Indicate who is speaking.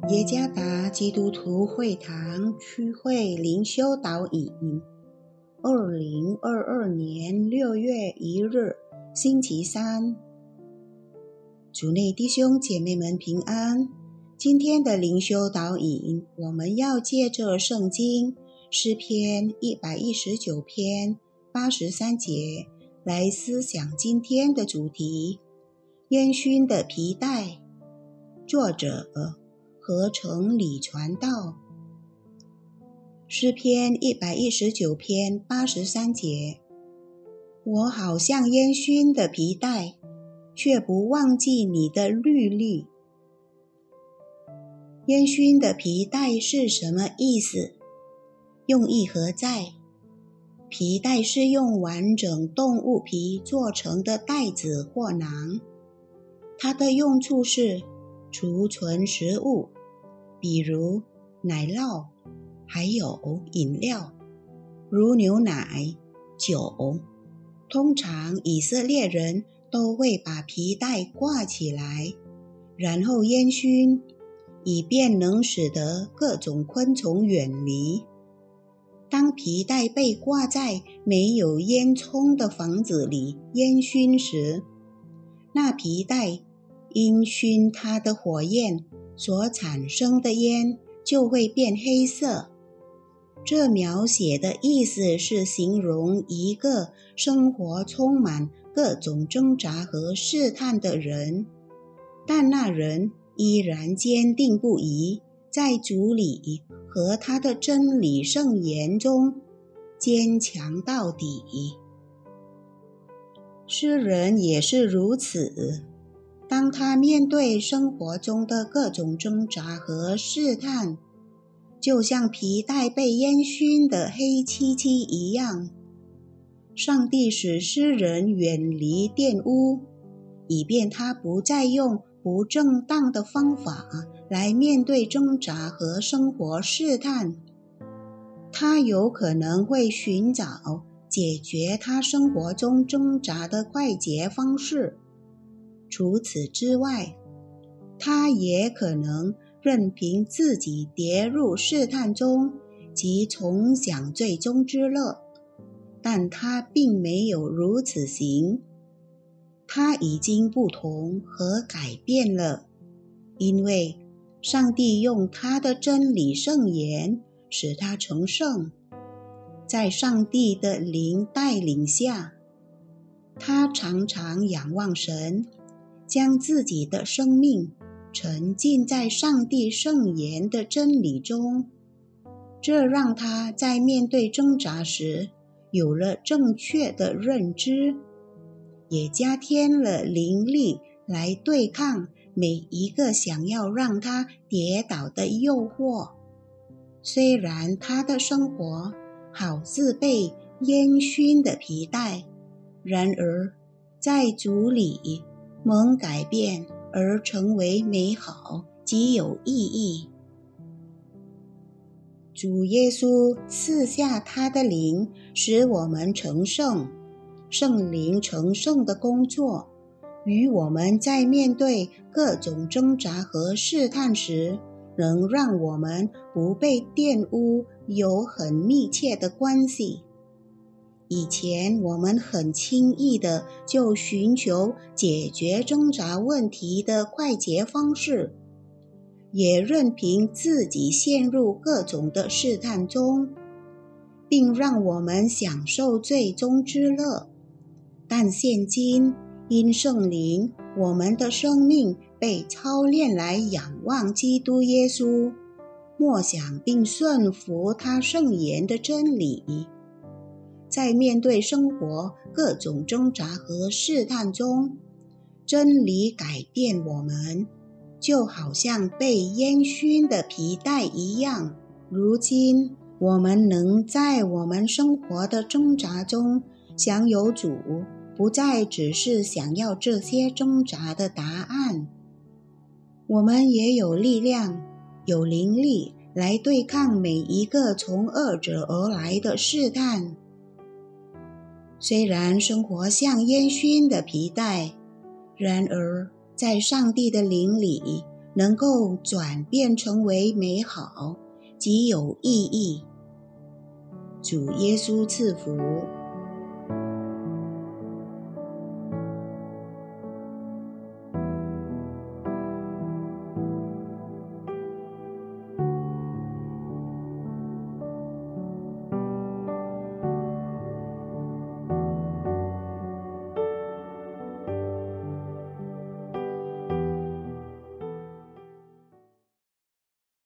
Speaker 1: 耶加达基督徒会堂区会灵修导引2022年6月1日星期三，主内弟兄姐妹们平安。今天的灵修导引，我们要借着圣经诗篇119篇83节来思想今天的主题：烟熏的皮带。作者合成李传道。诗篇119篇83节，我好像烟熏的皮带，却不忘记你的律例。烟熏的皮带是什么意思？用意何在？皮带是用完整动物皮做成的袋子或囊，它的用处是储存食物，比如奶酪，还有饮料，如牛奶、酒。通常以色列人都会把皮带挂起来，然后烟熏，以便能使得各种昆虫远离。当皮带被挂在没有烟囱的房子里烟熏时，那皮带因熏它的火焰所产生的烟就会变黑色。这描写的意思是形容一个生活充满各种挣扎和试探的人，但那人依然坚定不移，在主里和他的真理圣言中坚强到底。诗人也是如此，当他面对生活中的各种挣扎和试探，就像皮带被烟熏的黑漆漆一样，上帝使诗人远离玷污，以便他不再用不正当的方法来面对挣扎和生活试探。他有可能会寻找解决他生活中挣扎的快捷方式。除此之外，他也可能任凭自己跌入试探中及重享最终之乐，但他并没有如此行。他已经不同和改变了，因为上帝用他的真理圣言使他成圣。在上帝的灵带领下，他常常仰望神，将自己的生命沉浸在上帝圣言的真理中，这让他在面对挣扎时有了正确的认知，也加添了灵力来对抗每一个想要让他跌倒的诱惑。虽然他的生活好似被烟熏的皮带，然而在主里蒙改变而成为美好及有意义。主耶稣赐下他的灵，使我们成圣。圣灵成圣的工作与我们在面对各种挣扎和试探时能让我们不被玷污有很密切的关系。以前我们很轻易的就寻求解决挣扎问题的快捷方式，也任凭自己陷入各种的试探中，并让我们享受最终之乐。但现今因圣灵，我们的生命被操练来仰望基督耶稣，默想并顺服他圣言的真理。在面对生活各种挣扎和试探中，真理改变我们，就好像被烟熏的皮带一样。如今我们能在我们生活的挣扎中享有主，不再只是想要这些挣扎的答案。我们也有力量，有灵力来对抗每一个从恶者而来的试探。虽然生活像烟熏的皮带，然而在上帝的灵里能够转变成为美好及有意义。主耶稣赐福。